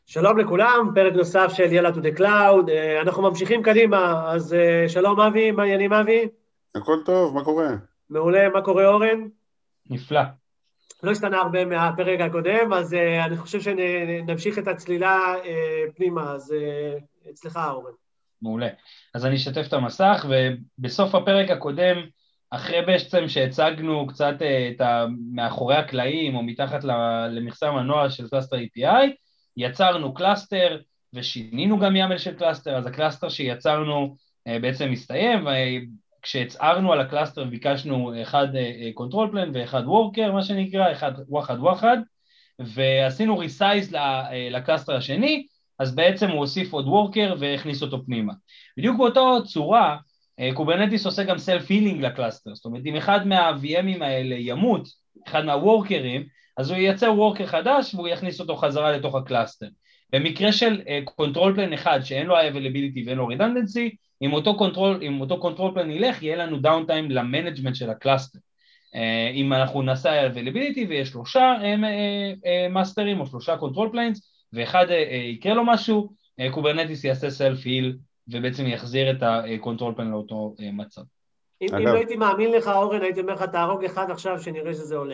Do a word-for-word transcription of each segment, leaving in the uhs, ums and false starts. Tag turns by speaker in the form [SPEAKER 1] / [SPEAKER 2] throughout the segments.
[SPEAKER 1] שלום לכולם, פרק נוסף של יאללה to the cloud, אנחנו ממשיכים קדימה, אז שלום אבי, מה העניינים אבי?
[SPEAKER 2] הכל טוב, מה קורה?
[SPEAKER 1] מעולה, מה קורה אורן?
[SPEAKER 3] נפלא.
[SPEAKER 1] לא השתנה הרבה מהפרק הקודם, אז אני חושב שנמשיך את הצלילה פנימה, אז אצלך אורן.
[SPEAKER 3] מעולה. אז אני אשתף את המסך, ובסוף הפרק הקודם, אחרי בעצם שהצגנו קצת את מאחורי הקלעים, או מתחת למכסה המנוע של קלאסטר איי פי איי, יצרנו קלאסטר, ושינינו גם ימל של קלאסטר, אז הקלאסטר שיצרנו בעצם מסתיים, וכשהצערנו על הקלאסטר ביקשנו אחד control plan ואחד worker, מה שנקרא, אחד וואחד וואחד, ועשינו ריסייז לקלאסטר השני, אז בעצם הוא הוסיף עוד וורקר והכניס אותו פנימה. בדיוק באותו צורה, קוברנטיס עושה גם סלף-הילינג לקלאסטר, זאת אומרת, אם אחד מה-וי אמים האלה ימות, אחד מהוורקרים, אז הוא ייצר וורקר חדש והוא יכניס אותו חזרה לתוך הקלאסטר. במקרה של קונטרול פלן אחד שאין לו availability ואין לו redundancy, אם אותו קונטרול, אם אותו קונטרול פלן ילך, יהיה לנו דאונטיים למנג'מנט של הקלאסטר. אם אנחנו נעשה availability ויש שלושה מאסטרים או שלושה קונטרול פליינס, ואחד יקרה לו משהו, קוברנטיס יעשה סלף-היל, ובעצם יחזיר את הקונטרול פלן לאותו מצב.
[SPEAKER 1] אם לא הייתי מאמין לך, אורן, הייתי אומר לך, תהרוג אחד עכשיו, שנראה שזה עולה.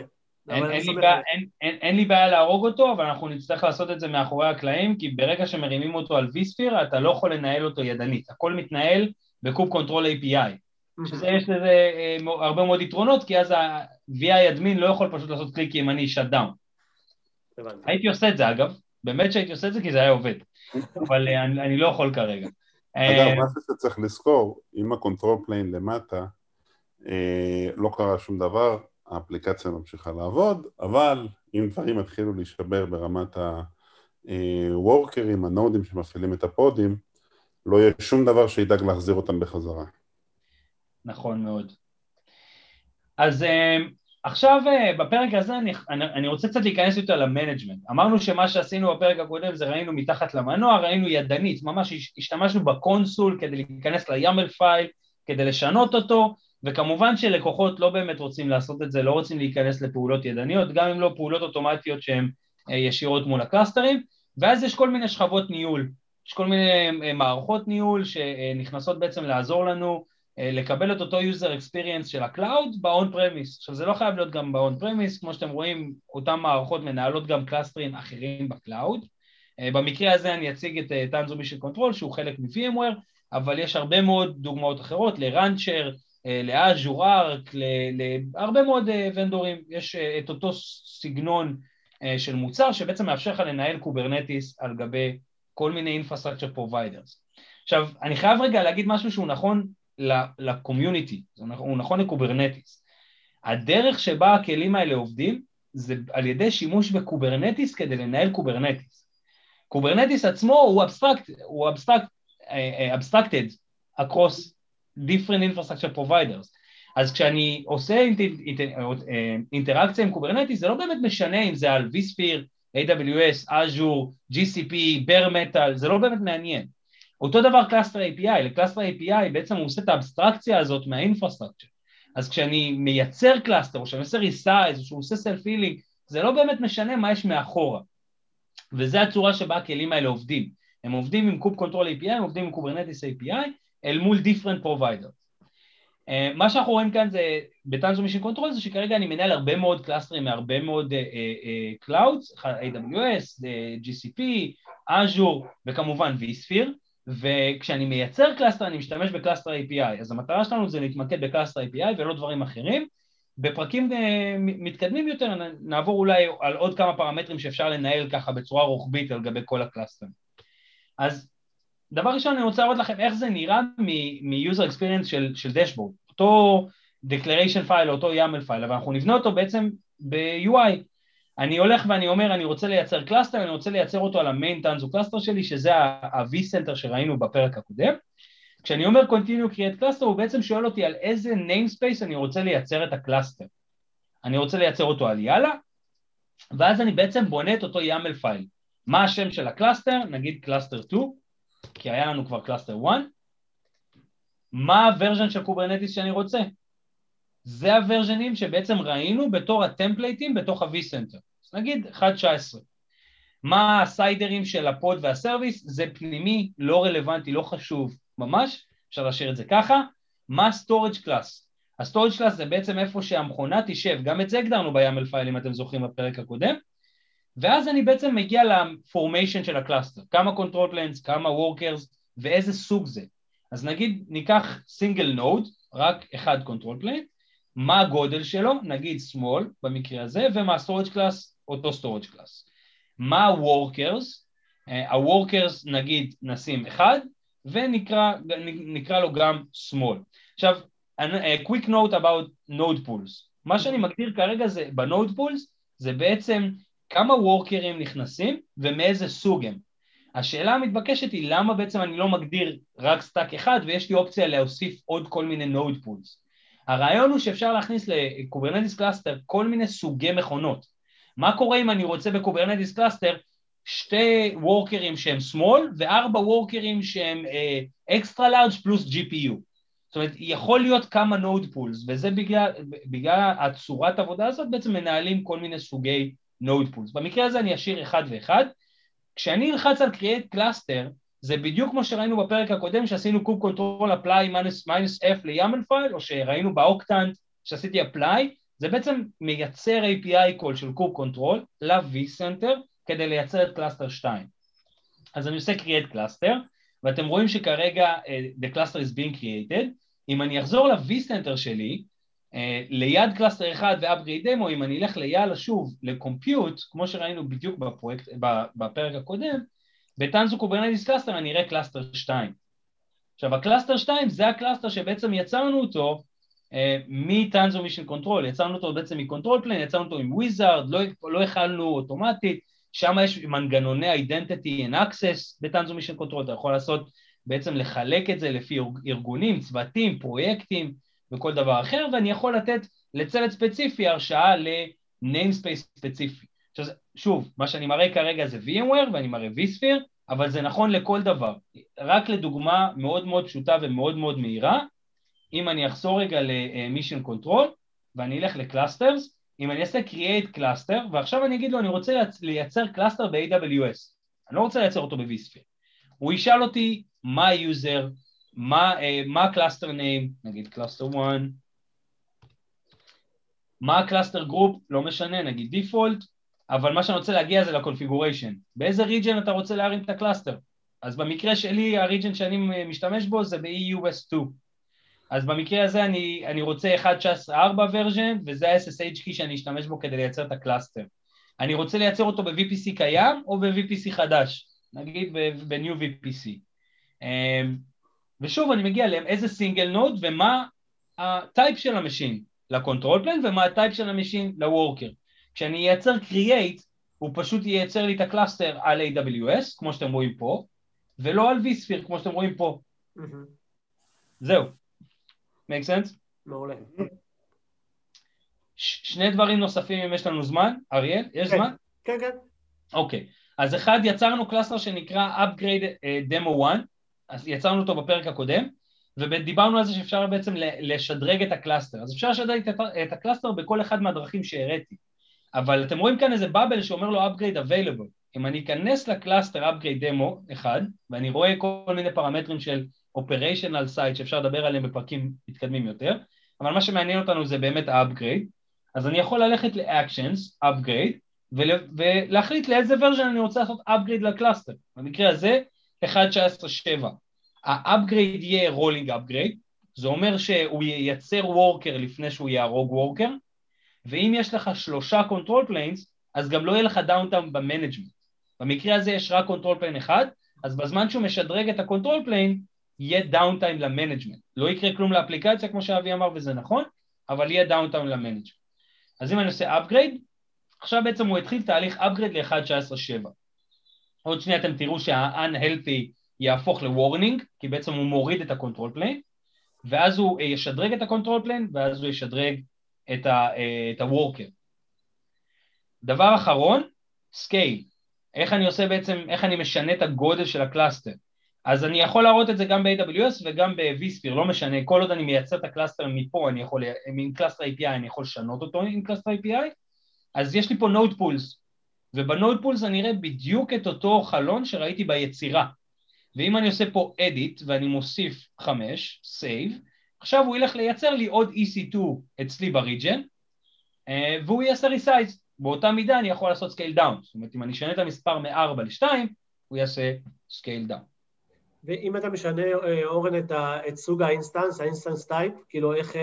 [SPEAKER 3] אין לי בעיה להרוג אותו, אבל אנחנו נצטרך לעשות את זה מאחורי הקלעים, כי ברגע שמרימים אותו על vSphere, אתה לא יכול לנהל אותו ידנית. הכל מתנהל בקוב קונטרול איי פי איי. שזה יש לזה הרבה מאוד יתרונות, כי אז ה-וי איי אדמין לא יכול פשוט לעשות קליק ימני shut down. הייתי עושה את זה, אגב. באמת שהייתי עושה את זה כי זה היה עובד, אבל אני, אני לא יכול כרגע.
[SPEAKER 2] אגב, מה שצריך לזכור, אם הקונטרול פליין למטה, אה, לא קרה שום דבר, האפליקציה ממשיכה לעבוד, אבל אם דברים התחילו להישבר ברמת הוורקרים, הנודים שמפעילים את הפודים, לא יהיה שום דבר שידאג להחזיר אותם בחזרה.
[SPEAKER 3] נכון מאוד. אז עכשיו בפרק הזה אני, אני רוצה קצת להיכנס יותר למנג'מנט. אמרנו שמה שעשינו בפרק הקודם זה ראינו מתחת למנוע, ראינו ידנית, ממש השתמשנו בקונסול כדי להיכנס ל-ימל פייל, כדי לשנות אותו, וכמובן שלקוחות לא באמת רוצים לעשות את זה, לא רוצים להיכנס לפעולות ידניות, גם אם לא פעולות אוטומטיות שהן ישירות מול הקלאסטרים, ואז יש כל מיני שכבות ניהול, יש כל מיני מערכות ניהול שנכנסות בעצם לעזור לנו, לקבל את אותו user experience של הקלאוד ב-on premise. עכשיו זה לא חייב להיות גם ב-on premise, כמו שאתם רואים, אותן מערכות מנהלות גם קלאסטרים אחרים בקלאוד. במקרה הזה אני אציג את Tanzu Mission Control, שהוא חלק מ-VMware, אבל יש הרבה מאוד דוגמאות אחרות, ל-Rancher, ל-Azure Arc, להרבה מאוד ונדורים. יש את אותו סגנון של מוצר, שבעצם מאפשר לך לנהל קוברנטיס על גבי כל מיני infrastructure providers. עכשיו, אני חייב רגע להגיד משהו שהוא נכון לקומיוניטי, הוא נכון לקוברנטיס. הדרך שבה הכלים האלה עובדים, זה על ידי שימוש בקוברנטיס כדי לנהל קוברנטיס. קוברנטיס עצמו הוא אבסטרקט, הוא אבסטרקט, abstracted across different infrastructure providers. אז כשאני עושה אינטראקציה עם קוברנטיס, זה לא באמת משנה אם זה על vSphere, איי דאבליו אס, Azure, ג'י סי פי, Bare Metal, זה לא באמת מעניין. אותו דבר קלאסטר איי פי איי, לקלאסטר איי פי איי בעצם הוא עושה את האבסטרקציה הזאת מהאינפרסטרקצ'ר. אז כשאני מייצר קלאסטר, או שאני עושה ריסייז, או שהוא עושה סלף-הילינג, זה לא באמת משנה מה יש מאחורה. וזו הצורה שבה הכלים האלה עובדים. הם עובדים עם קוב קונטרול איי פי איי, הם עובדים עם קוברנטיס איי פי איי, אל מול different providers. Uh, מה שאנחנו רואים כאן זה, ב-Tanzu Mission Control, זה שכרגע אני מנהל הרבה מאוד קלאסטרים, מהרבה מאוד uh, uh, clouds, איי דאבליו אס, uh, ג'י סי פי, Azure, וכמובן vSphere, וכשאני מייצר קלאסטר, אני משתמש בקלאסטר איי פי איי, אז המטרה שלנו זה להתמקד בקלאסטר איי פי איי ולא דברים אחרים. בפרקים uh, מתקדמים יותר, נעבור אולי על עוד כמה פרמטרים שאפשר לנהל ככה בצורה רוחבית על גבי כל הקלאסטרים. אז דבר ראשון, אני רוצה לראות לכם איך זה נראה מ-user experience של, של דשבורד, אותו declaration file, אותו ימל file, אבל אנחנו נבנה אותו בעצם ב-יו איי. אני הולך ואני אומר, אני רוצה לייצר קלאסטר, אני רוצה לייצר אותו על המיין טנזו קלאסטר שלי, שזה ה-vCenter שראינו בפרק הקודם. כשאני אומר continue create cluster, הוא בעצם שואל אותי על איזה namespace אני רוצה לייצר את הקלאסטר. אני רוצה לייצר אותו על יאללה, ואז אני בעצם בונה את אותו ימל פייל. מה השם של הקלאסטר? נגיד קלאסטר שתיים, כי היה לנו כבר קלאסטר אחת. מה הוורז'ן של קוברנטיס שאני רוצה? זה הוורז'נים שבעצם ראינו בתור הטמפלייטים בתוך ה-vCenter. אז נגיד אחת נקודה תשע עשרה. מה הסיידרים של הפוד והסרוויס, זה פנימי, לא רלוונטי, לא חשוב, ממש, אפשר להשאיר את זה ככה. מה storage class? ה-storage class זה בעצם איפה שהמכונה תישב, גם את זה הגדרנו ב-YAML פייל, אם אתם זוכרים בפרק הקודם, ואז אני בעצם מגיע לפורמיישן של הקלאסטר, כמה control planes, כמה workers, ואיזה סוג זה. אז נגיד, ניקח single node, רק אחד control plane, מה הגודל שלו, נגיד small במקרה הזה, ומה storage class, אותו storage class. מה ה-workers, ה-workers נגיד נשים אחד, ונקרא נקרא לו גם small. עכשיו, a quick note about node pools. מה שאני מגדיר כרגע זה, ב-node pools, זה בעצם כמה workers נכנסים, ומאיזה סוג הם. השאלה המתבקשת היא, למה בעצם אני לא מגדיר רק סטאק אחד, ויש לי אופציה להוסיף עוד כל מיני node pools. הרעיון הוא שאפשר להכניס לקוברנטיס קלאסטר כל מיני סוגי מכונות. מה קורה אם אני רוצה בקוברנטיס קלאסטר שתי וורקרים שהם small וארבע וורקרים שהם אקסטרה לארג' פלוס ג'י פי יו. זאת אומרת, יכול להיות כמה node pools, וזה בגלל, בגלל הצורת עבודה הזאת בעצם מנהלים כל מיני סוגי node pools. במקרה הזה אני אשאיר אחד ואחד. כשאני אלחץ על create cluster, זה בדיוק כמו שראינו בפרק הקודם שעשינו קוב קונטרול apply minus f ל-YAML file, או שראינו באוקטנט שעשיתי apply, זה בעצם מייצר איי פי איי call של קוב קונטרול ל-vCenter כדי לייצר את קלאסטר שתיים. אז אני עושה create cluster, ואתם רואים שכרגע uh, the cluster is being created. אם אני אחזור ל-vCenter שלי, uh, ליד קלאסטר אחד ו-upgrade demo, אם אני אלך ליד שוב ל-compute, כמו שראינו בדיוק בפרויקט, בפרק הקודם, בטנזו קוברנטיס קלאסטר אני אראה קלאסטר שתיים. עכשיו, הקלאסטר שתיים זה הקלאסטר שבעצם יצרנו אותו אה, מטנזו מישן קונטרול, יצרנו אותו בעצם מקונטרול פליין, יצרנו אותו עם וויזארד, לא, לא הכלנו אוטומטית, שם יש מנגנוני identity and access בטנזו מישן קונטרול, אתה יכול לעשות בעצם לחלק את זה לפי ארגונים, צוותים, פרויקטים וכל דבר אחר, ואני יכול לתת לצוות ספציפי הרשאה ל-namespace ספציפי. עכשיו, שוב, מה שאני מראה כרגע זה VMware ואני מראה vSphere, אבל זה נכון לכל דבר. רק לדוגמה מאוד מאוד פשוטה ומאוד מאוד מהירה, אם אני אחזור רגע ל-Mission Control, ואני אלך לקלאסטרס, אם אני אעשה Create Cluster, ועכשיו אני אגיד לו, אני רוצה לייצר קלאסטר ב-איי דאבליו אס, אני לא רוצה לייצר אותו ב-vSphere. הוא ישאל אותי מה ה-user, מה, מה ה-cluster name, נגיד cluster אחת, מה ה-cluster group, לא משנה, נגיד default, אבל מה שאני רוצה להגיע זה לקונפיגוריישן. באיזה ריג'ן אתה רוצה להרים את הקלאסטר? אז במקרה שלי, הריג'ן שאני משתמש בו זה ב-אי יו אס שתיים. אז במקרה הזה אני, אני רוצה אחת נקודה תשע עשרה ארבע version, וזה ה-אס אס אייץ' key שאני אשתמש בו כדי לייצר את הקלאסטר. אני רוצה לייצר אותו ב-וי פי סי קיים או ב-וי פי סי חדש, נגיד ב-New וי פי סי. ושוב אני מגיע לאיזה סינגל נוד ומה הטייפ של המשין לקונטרול פליין ומה הטייפ של המשין לוורקר. כשאני ייצר create, הוא פשוט ייצר לי את הקלאסטר על איי דאבליו אס, כמו שאתם רואים פה, ולא על vSphere, כמו שאתם רואים פה. זהו. make sense?
[SPEAKER 1] מעולה.
[SPEAKER 3] שני דברים נוספים אם יש לנו זמן, אריאל, יש זמן?
[SPEAKER 1] כן, כן.
[SPEAKER 3] אוקיי, אז אחד, יצרנו קלאסטר שנקרא upgrade demo אחת, אז יצרנו אותו בפרק הקודם, ודיברנו על זה שאפשר בעצם לשדרג את הקלאסטר, אז אפשר לשדרג את הקלאסטר בכל אחד מהדרכים שהראיתי. אבל אתם רואים כאן איזה בבל שאומר לו upgrade available. אם אני אכנס לקלאסטר upgrade demo אחד, ואני רואה כל מיני פרמטרים של operational site שאפשר לדבר עליהם בפרקים מתקדמים יותר, אבל מה שמעניין אותנו זה באמת ה-upgrade, אז אני יכול ללכת ל-actions, upgrade, ולהחליט לאיזה version אני רוצה לעשות upgrade לקלאסטר. במקרה הזה, אחת נקודה תשע עשרה שבע. ה-upgrade יהיה rolling upgrade, זה אומר שהוא ייצר worker לפני שהוא יהרוג worker, ואם יש לך שלושה control planes, אז גם לא יהיה לך downtime במנג'מנט. במקרה הזה יש רק control plane אחד, אז בזמן שהוא משדרג את ה-control plane, יהיה downtime למנג'מנט. לא יקרה כלום לאפליקציה, כמו שאבי אמר, וזה נכון, אבל יהיה downtime למנג'מנט. אז אם אני עושה upgrade, עכשיו בעצם הוא התחיל תהליך upgrade ל-אחת נקודה תשע עשרה שבע. עוד שנייה אתם תראו שה-unhealthy יהפוך ל-warning, כי בעצם הוא מוריד את ה-control plane, ואז הוא ישדרג את ה-control plane, ואז הוא ישדרג את ה-worker. דבר אחרון, scale. איך אני עושה בעצם, איך אני משנה את הגודל של הקלאסטר. אז אני יכול להראות את זה גם ב-איי דאבליו אס וגם ב-vSphere, לא משנה, כל עוד אני מייצר את הקלאסטר מפה, אני יכול, עם קלאסטר איי פי איי אני יכול לשנות אותו עם קלאסטר איי פי איי, אז יש לי פה node pools. ובנוד פולס אני אראה בדיוק את אותו חלון שראיתי ביצירה. ואם אני עושה פה edit ואני מוסיף חמש, save, עכשיו הוא ילך לייצר לי עוד E C two אצלי בריג'ן, והוא יעשה resize. באותה מידה אני יכול לעשות scale down. זאת אומרת, אם אני אשנה את המספר מ-ארבע ל-שתיים, הוא יעשה scale down.
[SPEAKER 1] ואם אתה משנה, אורן, את, ה, את סוג האינסטנס, האינסטנס טייפ, כאילו איך,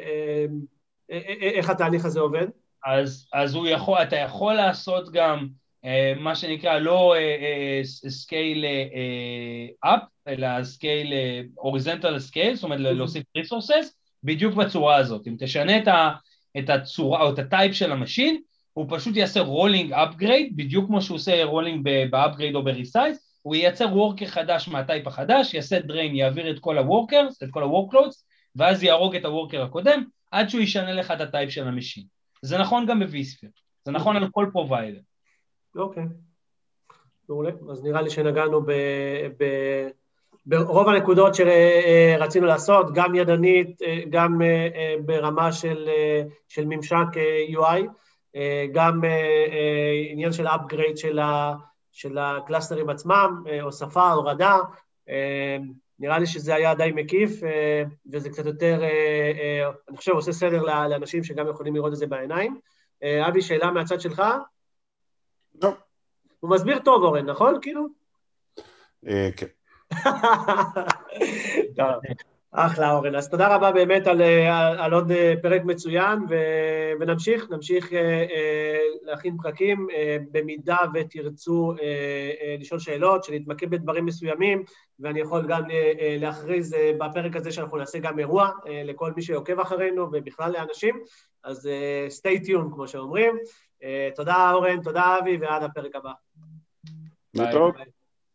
[SPEAKER 1] איך התהליך הזה עובד? אז,
[SPEAKER 3] אז הוא יכול, אתה יכול לעשות גם מה שנקרא לא scale up, אלא scale horizontal scale, זאת אומרת להוסיף resources, בדיוק בצורה הזאת. אם תשנה את, ה, את הצורה או את הטייפ של המשין, הוא פשוט יעשה rolling upgrade, בדיוק כמו שהוא עושה rolling ב-upgrade או ב-resize, הוא ייצר וורקר חדש מהטייפ החדש, יעשה drain, יעביר את כל הוורקרס, את כל הוורקלודס, ואז יהרוג את הוורקר הקודם, עד שהוא ישנה לך את הטייפ של המשין. זה נכון גם ב-vSphere, זה נכון על כל פרוביידר.
[SPEAKER 1] אוקיי, מעולה. אז נראה לי שנגענו ב... ב... ברוב הנקודות שרצינו לעשות, גם ידנית, גם ברמה של, של ממשק U I, גם עניין של upgrade של ה... של הקלאסטרים עצמם, הוספה, הורדה, נראה לי שזה היה די מקיף, וזה קצת יותר, אני חושב, עושה סדר לאנשים שגם יכולים לראות את זה בעיניים. אבי, שאלה מהצד שלך?
[SPEAKER 2] לא.
[SPEAKER 1] הוא מסביר טוב, אורן, נכון? כאילו?
[SPEAKER 2] כן.
[SPEAKER 1] טוב. אחלה, אורן. אז תודה רבה באמת על, על, על עוד פרק מצוין, ו, ונמשיך, נמשיך להכין פרקים, במידה ותרצו לשאול שאלות, שנתמקד בדברים מסוימים, ואני יכול גם להכריז בפרק הזה שאנחנו נעשה גם אירוע לכל מי שעוקב אחרינו, ובכלל לאנשים, אז stay tuned, כמו שאומרים. תודה, אורן, תודה, אבי, ועד הפרק הבא.
[SPEAKER 2] להתראות.